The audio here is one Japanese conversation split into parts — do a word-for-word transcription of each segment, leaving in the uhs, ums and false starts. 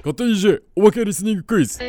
勝手に イージェー おまけリスニングクイズ。 はい、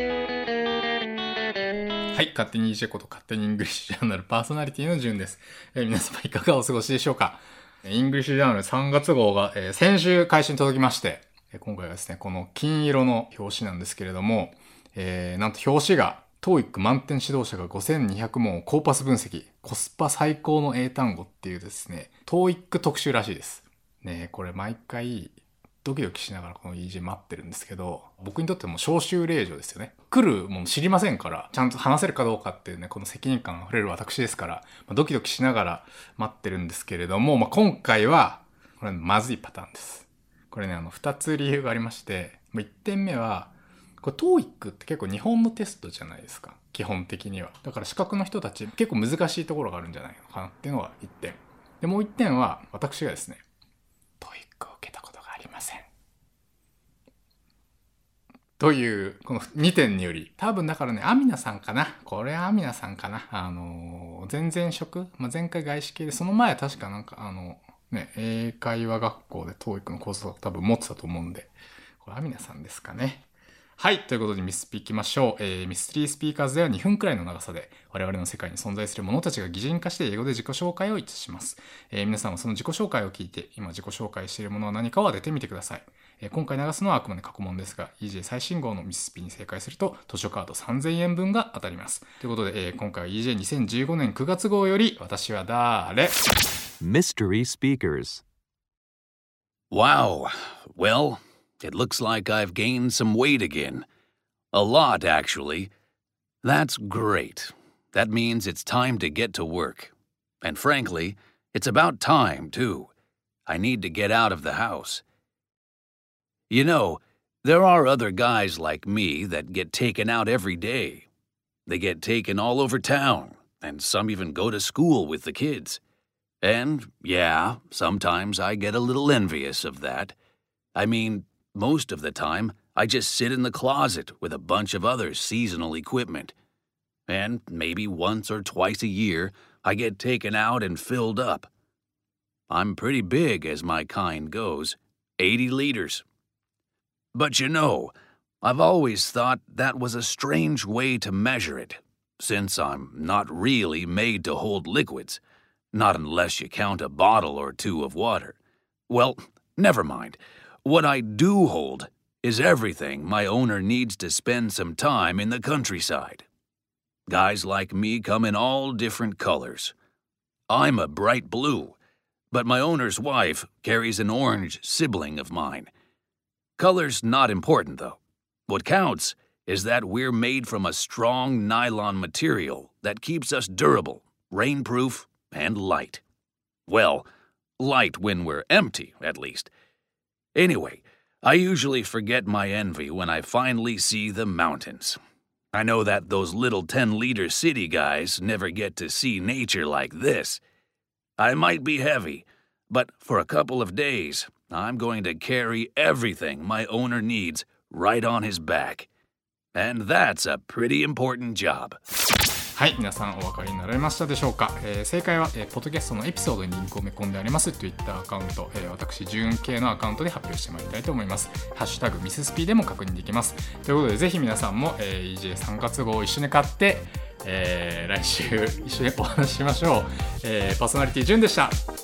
勝手に イージェー こと勝手にイングリッシュジャーナルパーソナリティのじゅんです。えー、皆様いかがお過ごしでしょうか。イングリッシュジャーナルさんがつ号が、えー、先週開始に届きまして、えー、今回はですね、この金色の表紙なんですけれども、えー、なんと表紙が トーイック 満点指導者がごせんにひゃくもんをコーパス分析、コスパ最高の英単語っていうですね、トーイック 特集らしいです。ね、これ毎回ドキドキしながらこの イージェー 待ってるんですけど、僕にとっても招集令状ですよね。来るもの知りませんから、ちゃんと話せるかどうかっていうね、この責任感あふれる私ですから、まあ、ドキドキしながら待ってるんですけれども、まあ、今回はこれまずいパターンです。これね、あのふたつ理由がありまして、いってんめはこれ トーイック って結構日本のテストじゃないですか、基本的には。だから資格の人たち結構難しいところがあるんじゃないのかなっていうのがいってんで、もういってんは私がですね トーイック を受けたことがありませんというこのにてんにより、多分だからね、アミナさんかな、これアミナさんかな、あの前々職、まあ、前回外資系で、その前は確かなんかあのね、英会話学校で トーイック のコースを多分持ってたと思うんで、これアミナさんですかね。はい、ということでミスピいきましょう。えー、ミステリースピーカーズではにふんくらいの長さで我々の世界に存在する者たちが擬人化して英語で自己紹介をいたします。えー、皆さんはその自己紹介を聞いて今自己紹介しているものは何かを当ててみてください。えー、今回流すのはあくまで過去問ですが イージェー 最新号のミスピに正解すると図書カードさんぜんえんぶんが当たります。ということで、えー、今回は イージェーにせんじゅうごねんくがつ号より私はだーれ Mystery Speakers. Wow. Well, it looks like I've gained some weight again.A lot, actually. That's great. That means it's time to get to work. And frankly, it's about time, too. I need to get out of the house. You know, there are other guys like me that get taken out every day. They get taken all over town, and some even go to school with the kids. And, yeah, sometimes I get a little envious of that. I mean, most of the time,I just sit in the closet with a bunch of other seasonal equipment. And maybe once or twice a year, I get taken out and filled up. I'm pretty big as my kind goes, eighty liters. But you know, I've always thought that was a strange way to measure it, since I'm not really made to hold liquids, not unless you count a bottle or two of water. Well, never mind. What I do hold,is everything my owner needs to spend some time in the countryside. Guys like me come in all different colors. I'm a bright blue, but my owner's wife carries an orange sibling of mine. Color's not important, though. What counts is that we're made from a strong nylon material that keeps us durable, rainproof, and light. Well, light when we're empty, at least. Anyway,I usually forget my envy when I finally see the mountains. I know that those little ten-liter city guys never get to see nature like this. I might be heavy, but for a couple of days, I'm going to carry everything my owner needs right on his back. And that's a pretty important job. はい、皆さんお分かりになられましたでしょうか。えー、正解は、えー、ポッドキャストのエピソードにリンクを埋め込んであります Twitter アカウント、えー、私純系のアカウントで発表してまいりたいと思います。ハッシュタグミススピでも確認できます。ということでぜひ皆さんも、えー、イージェーさんがつ号を一緒に買って、えー、来週一緒にお話ししましょう。えー、パーソナリティ純でした。